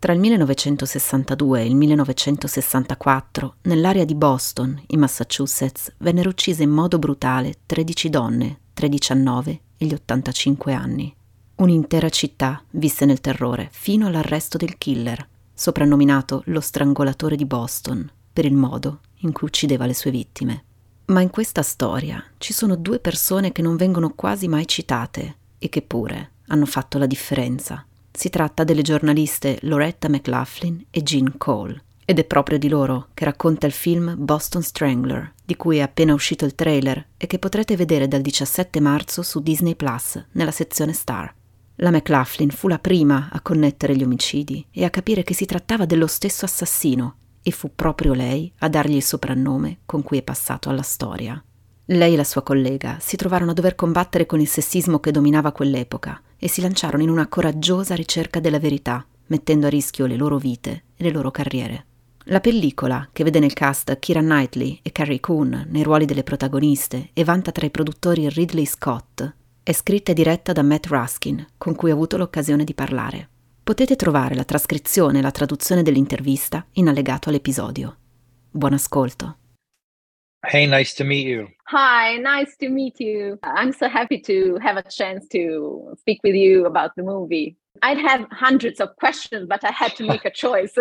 Tra il 1962 e il 1964, nell'area di Boston, in Massachusetts, vennero uccise in modo brutale 13 donne tra i 19 e gli 85 anni. Un'intera città visse nel terrore fino all'arresto del killer, soprannominato lo strangolatore di Boston, per il modo in cui uccideva le sue vittime. Ma in questa storia ci sono due persone che non vengono quasi mai citate e che pure hanno fatto la differenza. Si tratta delle giornaliste Loretta McLaughlin e Jean Cole, ed è proprio di loro che racconta il film Boston Strangler, di cui è appena uscito il trailer e che potrete vedere dal 17 marzo su Disney Plus, nella sezione Star. La McLaughlin fu la prima a connettere gli omicidi e a capire che si trattava dello stesso assassino, e fu proprio lei a dargli il soprannome con cui è passato alla storia. Lei e la sua collega si trovarono a dover combattere con il sessismo che dominava quell'epoca e si lanciarono in una coraggiosa ricerca della verità, mettendo a rischio le loro vite e le loro carriere. La pellicola, che vede nel cast Keira Knightley e Carrie Coon nei ruoli delle protagoniste e vanta tra i produttori Ridley Scott, è scritta e diretta da Matt Ruskin, con cui ho avuto l'occasione di parlare. Potete trovare la trascrizione e la traduzione dell'intervista in allegato all'episodio. Buon ascolto. Hey, nice to meet you. Hi, nice to meet you. I'm so happy to have a chance to speak with you about the movie. I'd have hundreds of questions, but I had to make a choice.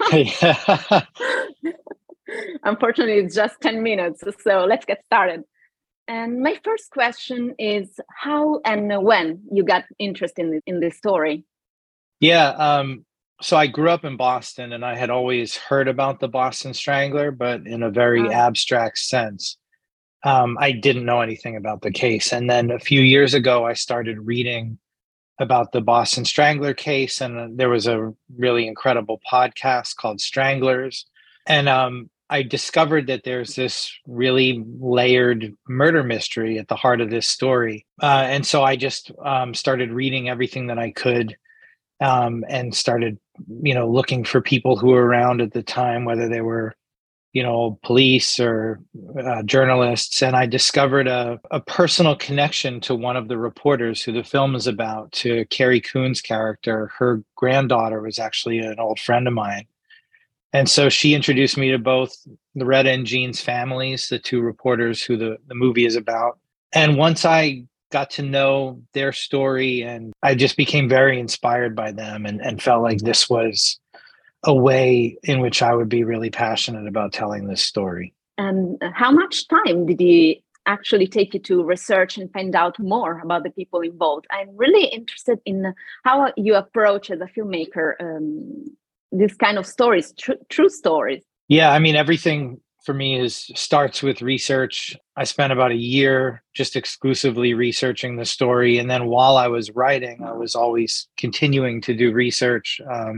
Unfortunately, it's just 10 minutes, so let's get started. And my first question is how and when you got interested in this story? Yeah, so I grew up in Boston and I had always heard about the Boston Strangler, but in a very abstract sense. I didn't know anything about the case. And then a few years ago, I started reading about the Boston Strangler case, and there was a really incredible podcast called Stranglers. And I discovered that there's this really layered murder mystery at the heart of this story. And so I just started reading everything that I could and started, looking for people who were around at the time, whether they were, police or journalists. And I discovered a personal connection to one of the reporters who the film is about, to Carrie Coon's character. Her granddaughter was actually an old friend of mine. And so she introduced me to both Loretta and Jean's families, the two reporters who the movie is about. And once I got to know their story, and I just became very inspired by them and felt like this was a way in which I would be really passionate about telling this story. And how much time did it actually take you to research and find out more about the people involved? I'm really interested in how you approach as a filmmaker this kind of stories, true stories. Yeah, I mean, everything for me starts with research. I spent about a year just exclusively researching the story. And then while I was writing, I was always continuing to do research.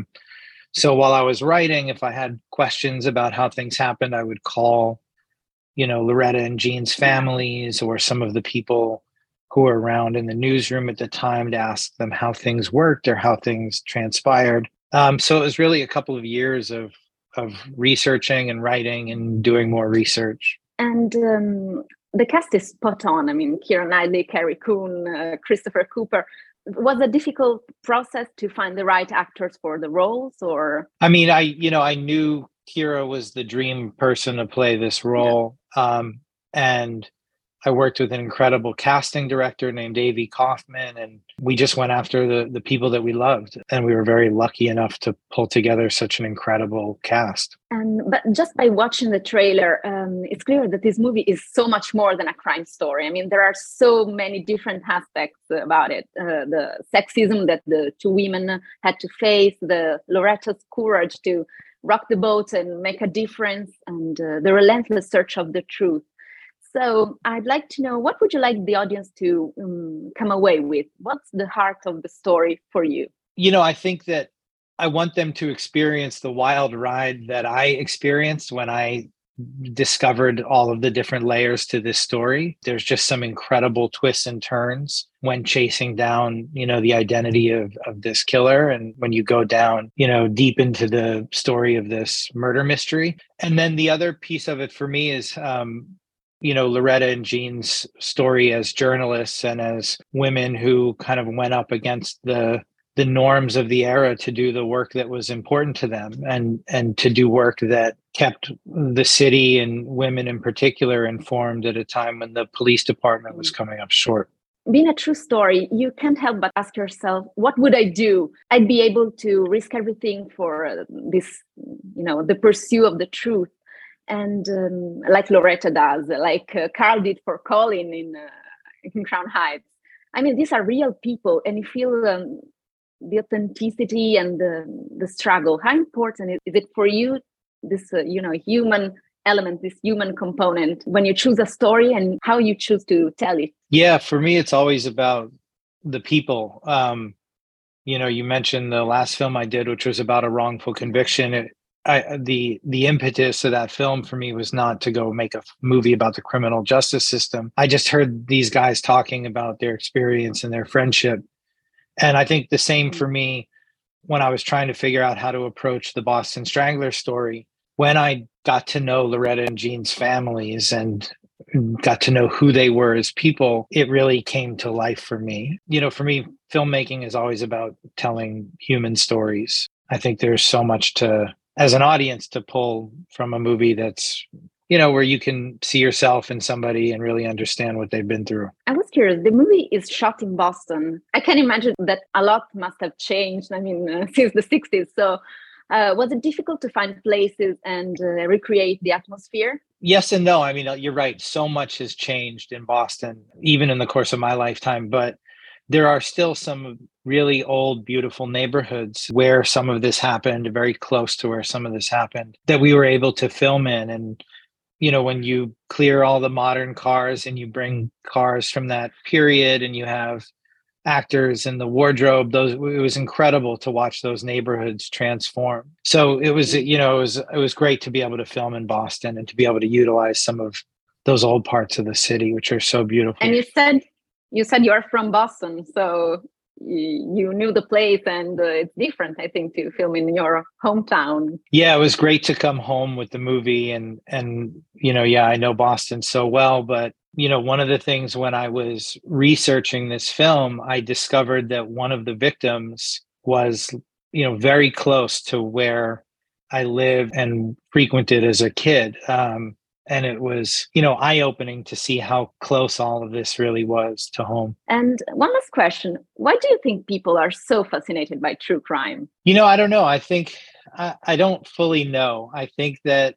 So while I was writing, if I had questions about how things happened, I would call, Loretta and Jean's families or some of the people who were around in the newsroom at the time to ask them how things worked or how things transpired. So it was really a couple of years of researching and writing and doing more research. And the cast is spot on. I mean, Keira Knightley, Carrie Coon, Christopher Cooper. Was it a difficult process to find the right actors for the roles, or? I mean, I knew Keira was the dream person to play this role. Yeah. And I worked with an incredible casting director named Avi Kaufman, and we just went after the people that we loved. And we were very lucky enough to pull together such an incredible cast. But just by watching the trailer, it's clear that this movie is so much more than a crime story. I mean, there are so many different aspects about it. The sexism that the two women had to face, the Loretta's courage to rock the boat and make a difference, and the relentless search of the truth. So I'd like to know, what would you like the audience to come away with? What's the heart of the story for you? I think that I want them to experience the wild ride that I experienced when I discovered all of the different layers to this story. There's just some incredible twists and turns when chasing down, the identity of this killer. And when you go down, deep into the story of this murder mystery. And then the other piece of it for me is, Loretta and Jean's story as journalists and as women who kind of went up against the the norms of the era to do the work that was important to them, and to do work that kept the city and women in particular informed at a time when the police department was coming up short. Being a true story, you can't help but ask yourself, what would I do? I'd be able to risk everything for this, the pursuit of the truth. And like Loretta does, like Carl did for Colin in Crown Heights. I mean, these are real people, and you feel the authenticity and the struggle. How important is it for you, this, human element, this human component, when you choose a story and how you choose to tell it? Yeah, for me, it's always about the people. You mentioned the last film I did, which was about a wrongful conviction. The impetus of that film for me was not to go make a movie about the criminal justice system. I just heard these guys talking about their experience and their friendship. And I think the same for me when I was trying to figure out how to approach the Boston Strangler story. When I got to know Loretta and Jean's families and got to know who they were as people, it really came to life for me. For me, filmmaking is always about telling human stories. I think there's so much as an audience, to pull from a movie that's, where you can see yourself in somebody and really understand what they've been through. I was curious, the movie is shot in Boston. I can imagine that a lot must have changed, since the 60s. So was it difficult to find places and recreate the atmosphere? Yes and no. You're right. So much has changed in Boston, even in the course of my lifetime. But there are still some really old, beautiful neighborhoods where some of this happened, very close to where some of this happened, that we were able to film in. And, when you clear all the modern cars and you bring cars from that period and you have actors in the wardrobe, it was incredible to watch those neighborhoods transform. So it was, it was great to be able to film in Boston and to be able to utilize some of those old parts of the city, which are so beautiful. And you said you're from Boston, so you knew the place, and it's different, I think, to film in your hometown. Yeah, it was great to come home with the movie, and I know Boston so well, but one of the things when I was researching this film, I discovered that one of the victims was, very close to where I lived and frequented as a kid. And it was, eye-opening to see how close all of this really was to home. And one last question. Why do you think people are so fascinated by true crime? I don't know. I think I don't fully know. I think that,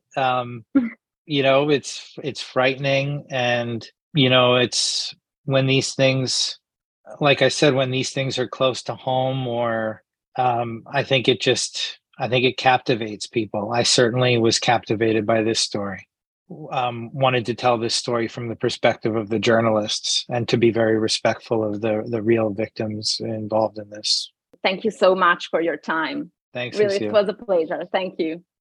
it's frightening. And, it's when these things, like I said, when these things are close to home, or I think it captivates people. I certainly was captivated by this story. Wanted to tell this story from the perspective of the journalists and to be very respectful of the real victims involved in this. Thank you so much for your time. Thanks. Really, it was a pleasure. Thank you.